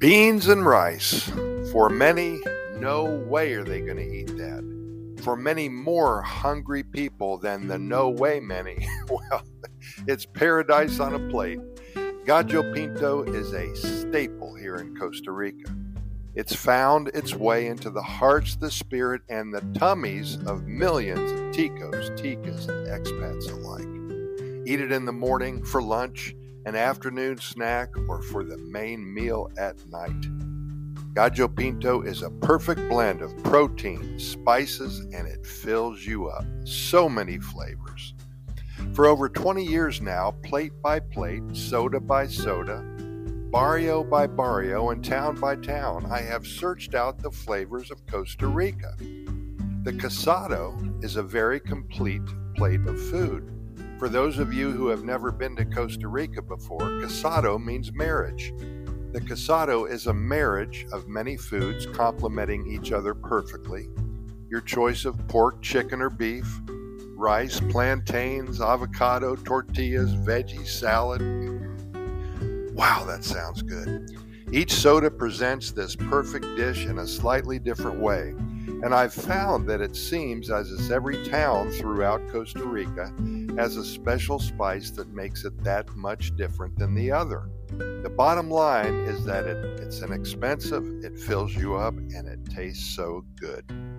Beans and rice. For many, no way are they going to eat that. For many more hungry people than the no way many, well, it's paradise on a plate. Gallo Pinto is a staple here in Costa Rica. It's found its way into the hearts, the spirit, and the tummies of millions of ticos, ticas, and expats alike. Eat it in the morning for lunch, an afternoon snack, or for the main meal at night. Gallo Pinto is a perfect blend of protein, spices, and it fills you up. So many flavors. For over 20 years now, plate by plate, soda by soda, barrio by barrio, and town by town, I have searched out the flavors of Costa Rica. The casado is a very complete plate of food. For those of you who have never been to Costa Rica before, casado means marriage. The casado is a marriage of many foods complementing each other perfectly. Your choice of pork, chicken, or beef, rice, plantains, avocado, tortillas, veggie, salad. Wow, that sounds good. Each soda presents this perfect dish in a slightly different way. And I've found that it seems as if every town throughout Costa Rica has a special spice that makes it that much different than the other. The bottom line is that it's inexpensive, it fills you up, and it tastes so good.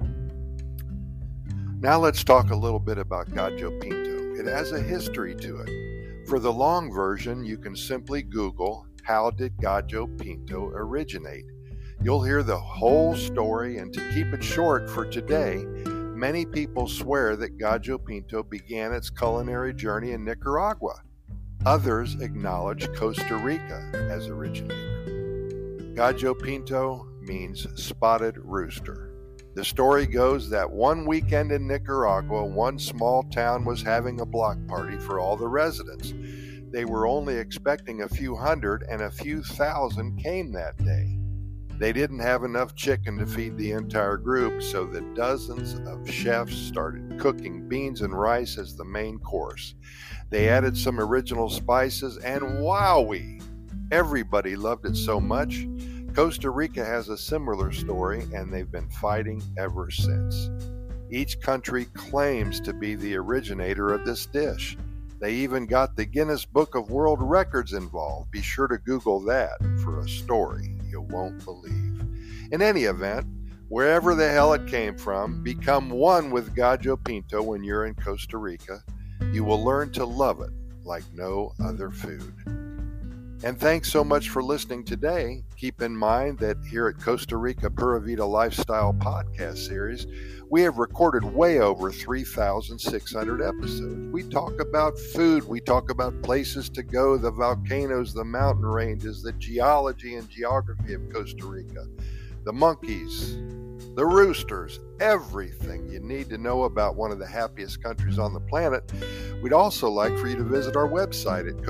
Now let's talk a little bit about Gallo Pinto. It has a history to it. For the long version, you can simply Google, how did Gallo Pinto originate? You'll hear the whole story, and to keep it short for today, many people swear that Gallo Pinto began its culinary journey in Nicaragua. Others acknowledge Costa Rica as originator. Gallo Pinto means spotted rooster. The story goes that one weekend in Nicaragua, one small town was having a block party for all the residents. They were only expecting a few hundred, and a few thousand came that day. They didn't have enough chicken to feed the entire group, so the dozens of chefs started cooking beans and rice as the main course. They added some original spices, and wowee! Everybody loved it so much. Costa Rica has a similar story, and they've been fighting ever since. Each country claims to be the originator of this dish. They even got the Guinness Book of World Records involved. Be sure to Google that for a story you won't believe. In any event, wherever the hell it came from, become one with Gallo Pinto when you're in Costa Rica. You will learn to love it like no other food. And thanks so much for listening today. Keep in mind that here at Costa Rica Pura Vida Lifestyle Podcast Series, we have recorded way over 3,600 episodes. We talk about food, we talk about places to go, the volcanoes, the mountain ranges, the geology and geography of Costa Rica, the monkeys, the roosters, everything you need to know about one of the happiest countries on the planet. We'd also like for you to visit our website at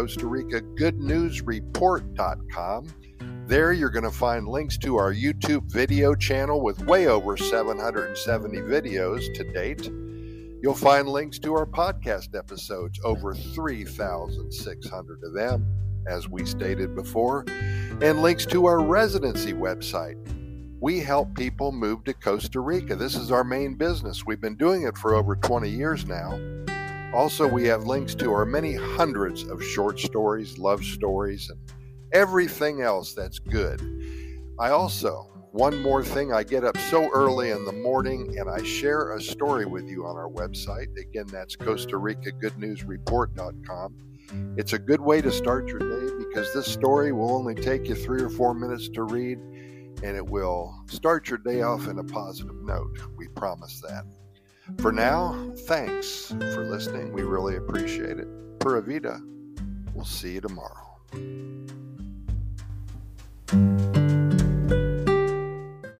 CostaRicaGoodNewsReport.com. There you're going to find links to our YouTube video channel with way over 770 videos to date. You'll find links to our podcast episodes, over 3,600 of them, as we stated before, and links to our residency website. We help people move to Costa Rica. This is our main business. We've been doing it for over 20 years now. Also, we have links to our many hundreds of short stories, love stories, and everything else that's good. One more thing, I get up so early in the morning and I share a story with you on our website. Again, that's CostaRicaGoodNewsReport.com. It's a good way to start your day because this story will only take you 3 or 4 minutes to read, and it will start your day off in a positive note. We promise that. For now, thanks for listening. We really appreciate it. Pura Vida. We'll see you tomorrow.